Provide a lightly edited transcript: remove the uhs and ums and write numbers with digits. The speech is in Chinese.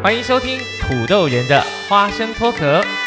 欢迎收听土豆人的花生脱壳。